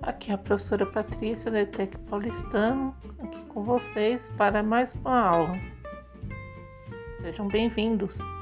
Aqui é a professora Patrícia da ETEC Paulistano, aqui com vocês para mais uma aula. Sejam bem-vindos.